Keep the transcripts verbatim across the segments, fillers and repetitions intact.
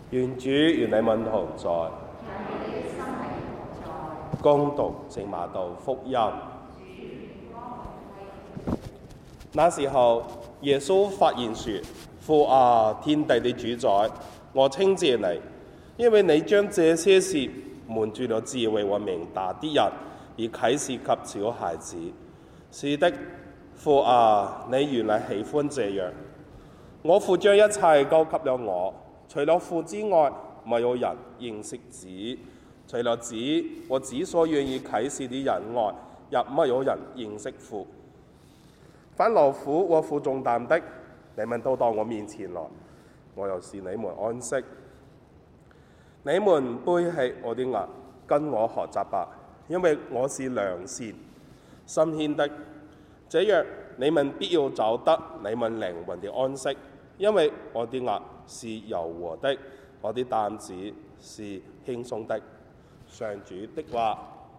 願主與你們同在。恭讀聖馬竇福音。那時候，耶穌發言說：父啊，天地的主宰，我稱謝你，因為你將這些事瞞住了智慧和明達的人，而啟示給小孩子。是的，父啊，你原來喜歡這樣。我父將一切交給了我，除了父之外，沒有人認識子；除了子和子所願意啟示的人外，也沒有人認識父。凡勞苦和負重擔的，你們都到我面前來，我又使你們安息。你們背起我的軛，跟我學習吧，因為我是良善、心謙的，這樣你們必要找得你們靈魂的安息。因為我的軛是柔和的，我的擔子是輕鬆的。上主的話。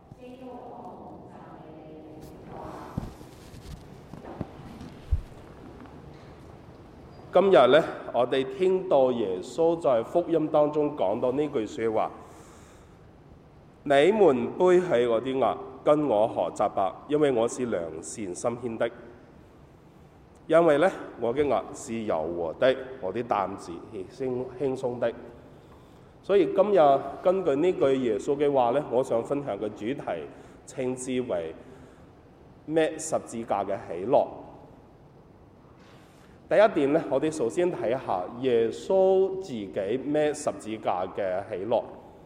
今日呢，我哋聽到耶穌在福音當中講到呢句說話：你們背起我的軛，跟我學習吧，因為我是良善心謙的。因為呢，我嘅軛是柔和的，我的擔子是輕輕鬆的。所以今日根據呢句耶穌嘅話呢，我想分享嘅主題稱之為孭十字架嘅喜樂。第一點咧，我哋首先睇下耶穌自己孭十字架嘅喜樂。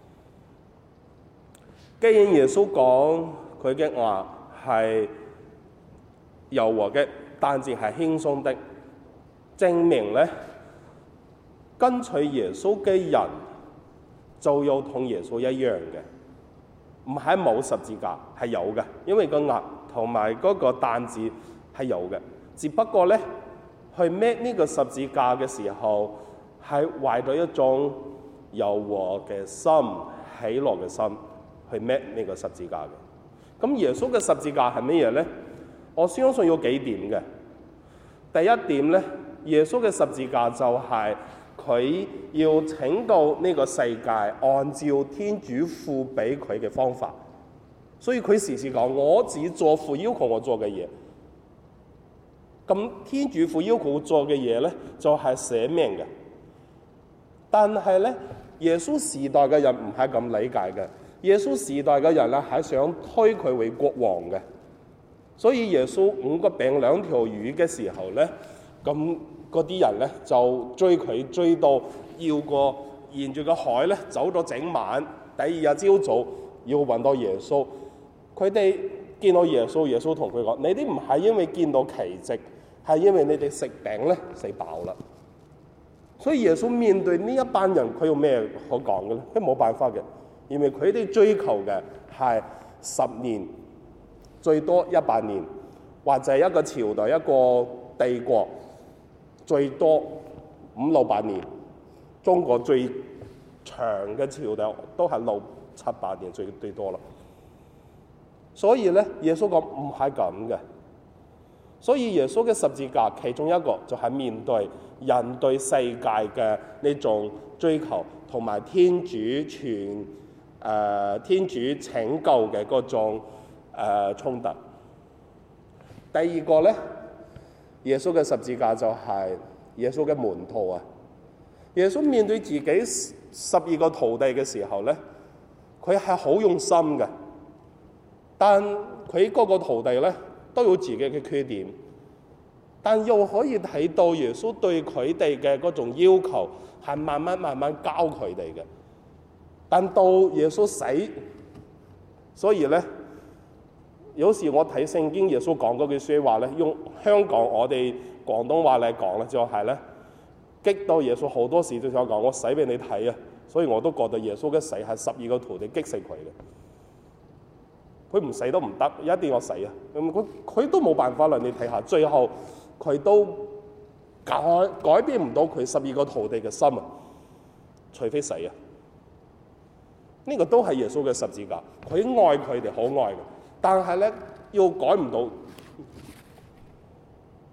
既然耶穌講佢嘅軛係柔和嘅，擔子係輕鬆的，證明咧跟隨耶穌嘅人就要同耶穌一樣嘅，唔係冇十字架，係有嘅，因為個軛同埋嗰個擔子係有嘅，只不過咧，去孭呢個十字架嘅時候，係懷咗一種柔和嘅心、喜樂嘅心去孭呢個十字架嘅。咁耶穌嘅十字架係乜嘢呢？我相信有幾點嘅。第一點呢，耶穌嘅十字架就係佢要拯救呢個世界，按照天主父俾佢嘅方法。所以佢時時講：我只做父要求我做嘅嘢。咁天主父要求做嘅嘢咧，就係捨命嘅。但係咧，耶穌時代嘅人唔係咁理解嘅。耶穌時代嘅人咧，係想推佢為國王嘅。所以耶穌五個餅兩條魚嘅時候咧，咁嗰啲人咧就追佢追到要過沿住個海咧走咗整晚，第二日朝早要揾到耶穌。佢哋見到耶穌，耶穌同佢講：你哋唔係因為見到奇蹟，係因為你哋食餅咧食飽啦。所以耶穌面對呢一班人，佢有咩可講嘅咧？佢冇辦法嘅，因為佢哋追求嘅係十年，最多一百年，或者一個朝代、一個帝國，最多五六百年。中國最長嘅朝代都係六七百年，最最多啦。所以咧，耶穌講唔係咁嘅。所以耶穌嘅十字架其中一個就係面對人對世界嘅呢種追求，同埋天主全誒、呃、天主拯救嘅嗰種誒、呃、衝突。第二個咧，耶穌嘅十字架就係耶穌嘅門徒啊。耶穌面對自己十二個徒弟嘅時候咧，佢係好用心嘅。但佢嗰個徒弟咧都有自己嘅缺點，但又可以睇到耶穌對佢哋嘅嗰種要求係慢慢慢慢教佢哋嘅。但到耶穌死，所以咧有時我睇聖經耶穌講嗰句説話咧，用香港我哋廣東話嚟講咧，就係咧激到耶穌好多時都想講我死俾你睇啊！所以我都覺得耶穌嘅死係十二個徒弟激死佢嘅。佢唔死都唔得，一定要死啊！咁佢佢都冇辦法啦。你睇下，最後佢都改改變唔到佢十二個徒弟嘅心啊，除非死啊！呢、這個都係耶穌嘅十字架，佢愛佢哋好愛嘅，但係咧要改唔到。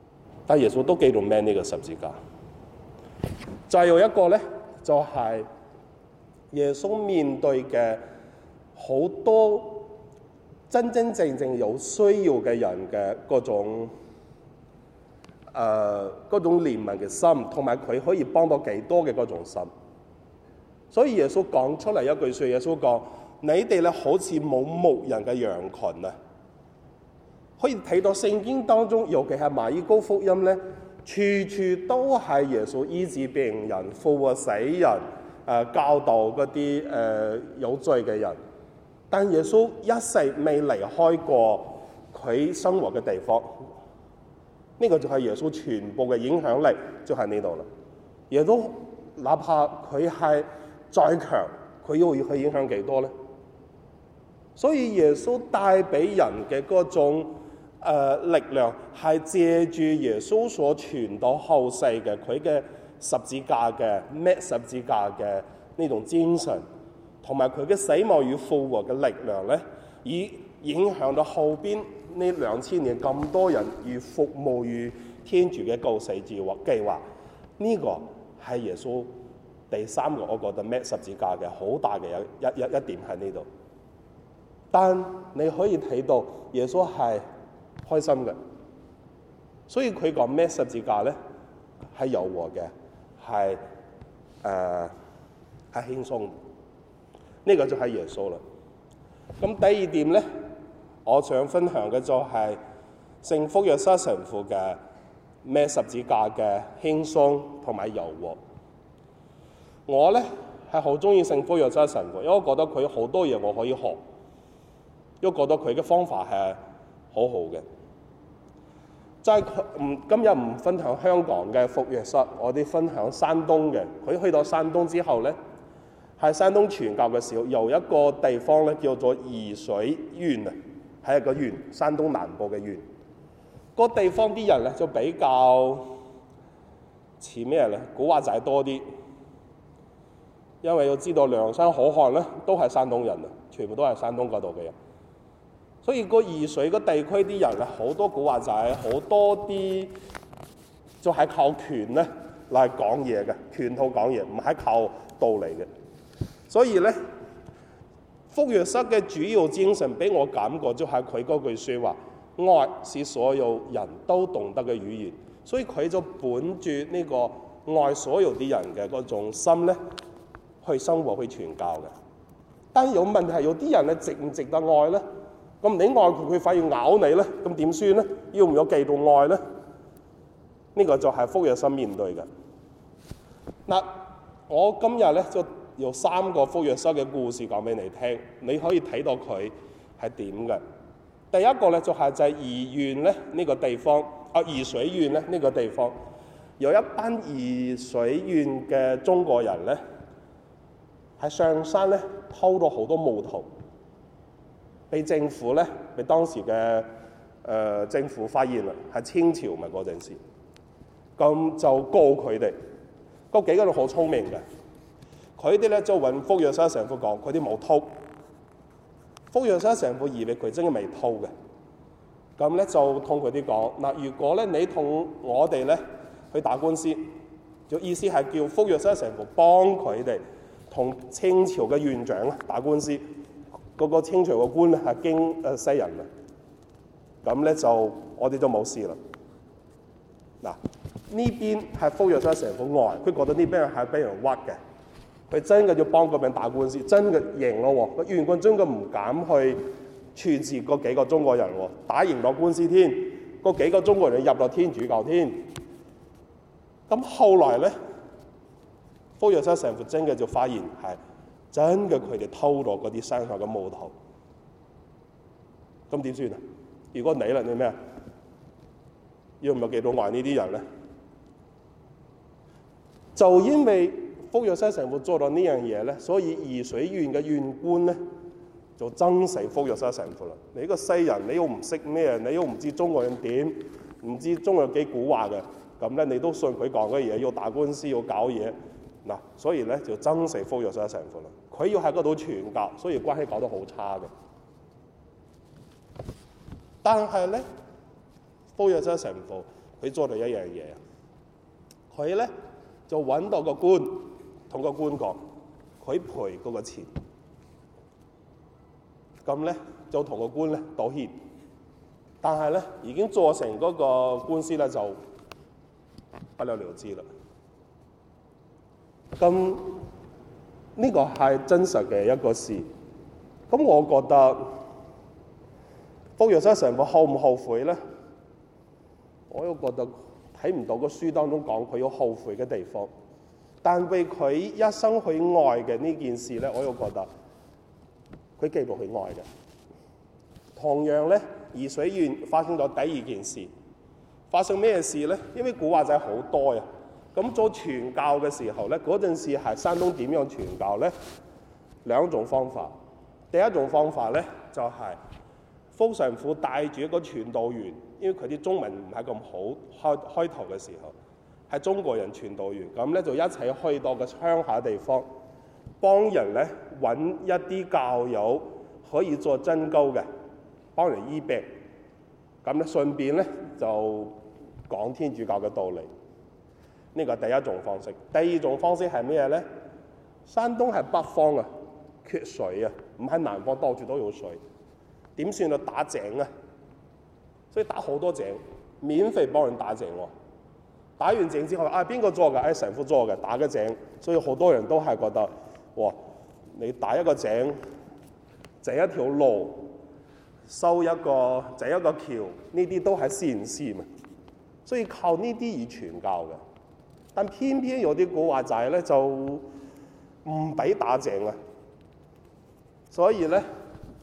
但耶穌都繼續孭呢個十字架。再有一個咧，就係、是、 耶穌面對嘅好多真真正正有需要嘅人嘅嗰種誒嗰、呃、種憐憫嘅心，同埋佢可以幫到幾多嘅嗰種心。所以耶穌講出嚟一句説：耶穌講，你哋咧好似冇牧人嘅羊群啊！可以睇到聖經當中，尤其係馬爾谷福音咧，處處都係耶穌醫治病人、復活死人、誒、呃、教導嗰啲誒有罪嘅人。但耶穌一世未離開過佢生活嘅地方，呢、這個就係耶穌全部嘅影響力，就喺呢度啦。耶穌哪怕佢係再強，佢要去影響幾多咧？所以耶穌帶俾人嘅嗰種、呃、力量，係借住耶穌所傳到後世嘅佢嘅十字架嘅孭十字架嘅呢種精神，同埋佢嘅死亡與復活嘅力量咧，以影響到後邊呢兩千年咁多人與服務於天主嘅救世計劃計劃。呢、這個係耶穌第三個我覺得孭十字架嘅好大嘅一一一一點喺呢度。但你可以睇到耶穌係開心嘅，所以佢講孭十字架咧係柔和嘅，係誒係輕鬆。呢、這個就係耶穌啦。咁第二點咧，我想分享嘅就係聖福若瑟神父嘅孭十字架嘅輕鬆同埋柔和。我咧係好中意聖福若瑟神父，因為我覺得佢好多嘢我可以學。都覺得佢嘅方法係好好嘅，就係佢唔今日唔分享香港嘅福若瑟，我哋分享山東嘅。佢去到山東之後咧，喺山東傳教嘅時候，有一個地方咧叫做沂水縣啊，係一個縣，山東南部嘅縣。個地方啲人咧就比較似咩咧？古惑仔多啲，因為要知道梁山好漢咧都係山東人啊，全部都係山東嗰度嘅人。所以個沂水個地區啲人咧，好多古惑仔，好多啲就係靠權咧嚟講嘢嘅，權套講嘢，唔係靠道理嘅。所以咧，福若瑟嘅主要精神俾我感覺就係佢嗰句説話：愛是所有人都懂得嘅語言。所以佢就本住呢個愛所有啲人嘅嗰種心咧，去生活去傳教嘅。但係有問題係有啲人咧值唔值得愛咧？咁你愛佢，佢反而咬你咧，咁點算咧？要唔要繼續愛咧？呢、這個就係福若瑟面對嘅。嗱，我今日咧就有三個福若瑟嘅故事講俾你聽，你可以睇到佢係點嘅。第一個咧就係、是、就係沂縣咧呢個地方，啊沂水縣咧呢個地方，有一班沂水縣嘅中國人咧，喺上山咧偷到好多木頭。被政府咧，被當時嘅誒、呃、政府發現啦，係清朝咪嗰陣時，咁就告佢哋。嗰幾個人好聰明嘅，佢哋咧就揾福若瑟神父講，佢哋冇偷。福若瑟神父以為佢真係未偷嘅，咁咧就同佢哋講：嗱，如果咧你同我哋咧去打官司，就意思係叫福若瑟神父幫佢哋同清朝嘅縣長打官司。嗰個清朝嘅官咧係經誒西人啊，咁咧就我哋就冇事啦。嗱，呢邊係福若瑟神父愛，佢覺得呢邊係俾人屈嘅，佢真嘅要幫嗰邊打官司，真嘅贏咯喎，個縣官真嘅唔敢去處置嗰幾個中國人喎，打贏咗官司添，嗰幾個中國人入咗天主教添。咁後來咧，福若瑟神父真嘅就發現係。真嘅，佢哋偷咗嗰啲山上嘅木頭，咁點算啊？如果你啦，你咩啊？要唔要繼續愛呢啲人咧？就因為福若瑟神父做到呢樣嘢咧，所以沂水縣嘅縣官咧就憎死福若瑟神父啦。你個西人，你又唔識咩？你又唔知中國人點？唔知中國幾古惑嘅？咁咧，你都信佢講嘅嘢，要打官司，要搞嘢。嗱，所以咧就憎死福若瑟神父啦。佢要喺嗰度傳教，所以關係搞得好差嘅。但係咧，福若瑟神父佢做到一樣嘢，佢咧就揾到個官，同個官講： 佢賠嗰個錢，咁咧就同個官咧道歉，但係咧已經做成嗰個官司咧就不了了之啦。咁呢個係真實嘅一個事。咁我覺得福若瑟神父後唔後悔咧？我又覺得睇唔到個書當中講佢有後悔嘅地方。但為佢一生去愛嘅呢件事咧，我又覺得佢繼續去愛嘅。同樣咧，怡水縣發生咗第二件事，發生咩事咧？因為古惑仔好多呀。咁做傳教嘅時候咧，嗰陣時係山東點樣傳教咧？兩種方法。第一種方法咧，就係、是、福神父帶住一個傳道員，因為佢啲中文唔係咁好，開開頭嘅時候係中國人傳道員，咁咧就一齊去到個鄉下地方，幫人咧揾一啲教友可以做針灸嘅，幫人醫病。咁咧順便咧就講天主教嘅道理。呢個係第一種方式。第二種方式係咩咧？山東係北方啊，缺水啊，唔喺南方到處都有水，點算啊？打井啊，所以打好多井，免費幫人打井喎。打完井之後，啊邊個做嘅？誒神父做嘅，打個井，所以好多人都係覺得，哇！你打一個井，整一條路，修一個整一個橋，呢啲都係善事嘛。所以靠呢啲而傳教嘅。但偏偏有啲古惑仔咧就唔俾打井啊，所以咧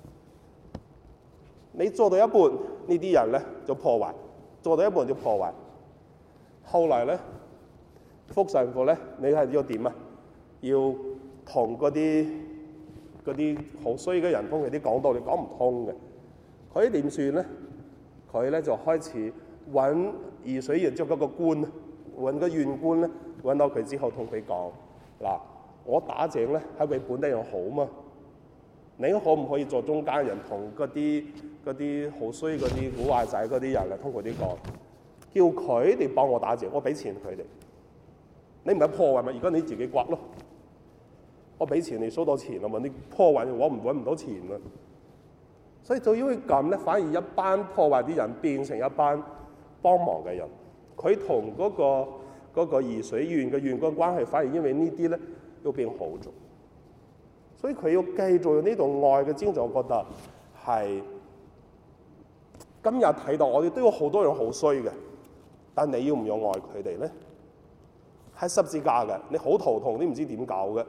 你做到一半，呢啲人咧就破壞，做到一半就破壞。後嚟咧，福神父咧，你係要點啊？要同嗰啲嗰啲好衰嘅人同佢啲講道理講唔通嘅，佢點算咧？佢咧就開始揾怡水縣即係嗰個官。揾個縣官咧，揾到佢之後同佢講：嗱，我打井咧係為本地人好嘛，你可唔可以做中間人，同嗰啲嗰啲好衰嗰啲古惑仔嗰啲人咧，同佢啲講，叫佢哋幫我打井，我俾錢佢哋。你唔係破壞咪？而家你自己刮咯，我俾錢你收到錢啊嘛，你破壞我唔揾唔到錢啊。所以就因為咁咧，反而一班破壞啲人變成一班幫忙嘅人。佢同嗰個嗰個怡水縣嘅縣官關係，反而因為呢啲咧要變好咗。所以佢要繼續用呢種愛嘅精神，我覺得係今日睇到我哋都有好多人好衰嘅，但你要唔要愛佢哋咧？係十字架嘅，你好頭痛，你唔知點搞嘅。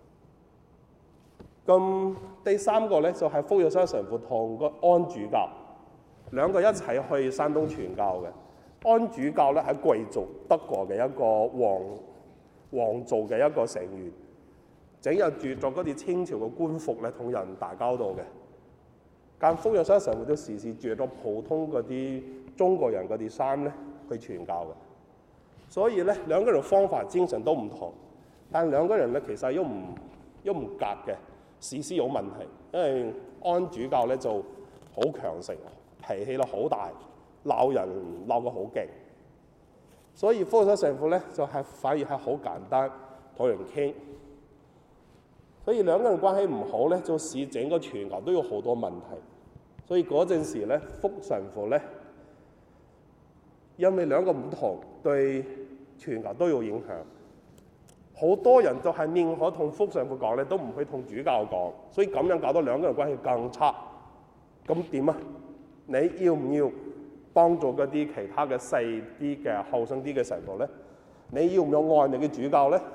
咁第三個咧就係、是、福若瑟神父同個安主教兩個一齊去山東傳教嘅。安主教咧係貴族德國嘅一個皇皇族嘅一個成員，整日著咗嗰啲清朝嘅官服咧，同人打交道嘅。但福若瑟神父都時時著咗普通嗰啲中國人嗰啲衫咧去傳教嘅。所以咧兩個人方法精神都唔同，但兩個人咧其實又唔又唔夾嘅，時時有問題。因為安主教咧就好強盛，脾氣咧好大。鬧人鬧得好勁，所以福若瑟神父咧就係、是、反而係好簡單同人傾，所以兩個人關係唔好咧，就使整個傳教都有好多問題。所以嗰陣時咧，福神父咧因為兩個唔同，對傳教都有影響。好多人就係寧可同福神父講咧，都唔去同主教講，所以咁樣搞到兩個人關係更差。咁點啊？你要唔要幫助嗰啲其他嘅細啲嘅後生啲嘅神父咧？你要唔要愛你嘅主教咧？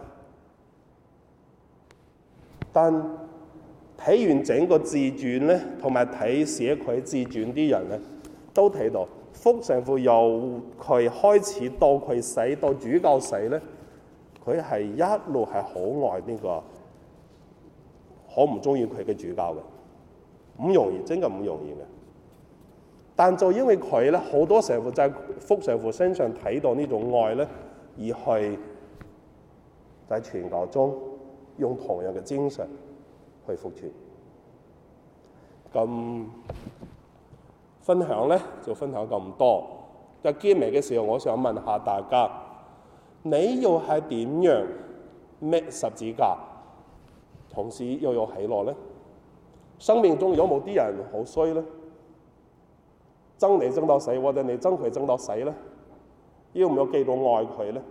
但睇完整個自傳咧，同埋睇寫佢自傳啲人咧，都睇到福神父由佢開始到佢死到主教死咧，佢係一路係好愛呢個，好唔中意佢嘅主教嘅，唔容易，真係唔容易嘅。但就因為佢咧，好多神父就喺福神父身上睇到呢種愛咧，而去在傳教中用同樣嘅精神去福傳。咁分享咧就分享咁多。喺結尾嘅時候，我想問下大家，你又係點樣孭十字架同時又有喜樂咧？生命中有冇啲人好衰咧？憎你憎到死，或者你憎佢憎到死咧？要唔要記到愛佢咧？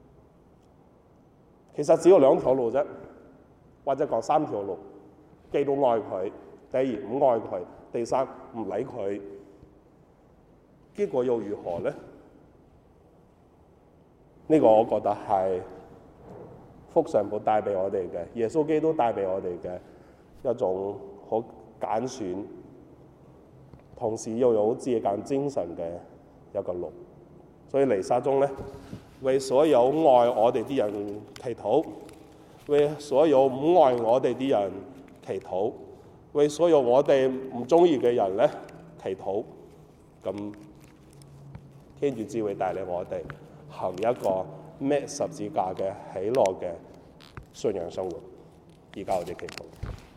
其實只有兩條路啫，或者講三條路。記到愛佢，第二唔愛佢，第三唔理佢。結果又如何咧？呢、這個我覺得係福上寶帶俾我哋嘅，耶穌基督帶俾我哋嘅一種好揀選，同時又有自鑒精神嘅一個路。所以彌撒中咧，為所有愛我哋啲人祈禱，為所有唔愛我哋啲人祈禱，為所有我哋唔中意嘅人咧祈禱。咁天主只會帶領我哋行一個孭十字架嘅喜樂嘅信仰生活。而家我哋祈禱。